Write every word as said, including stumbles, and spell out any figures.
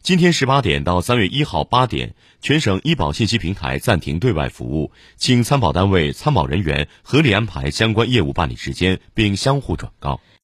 今天十八点到三月一号八点，全省医保信息平台暂停对外服务，请参保单位参保人员合理安排相关业务办理时间，并相互转告。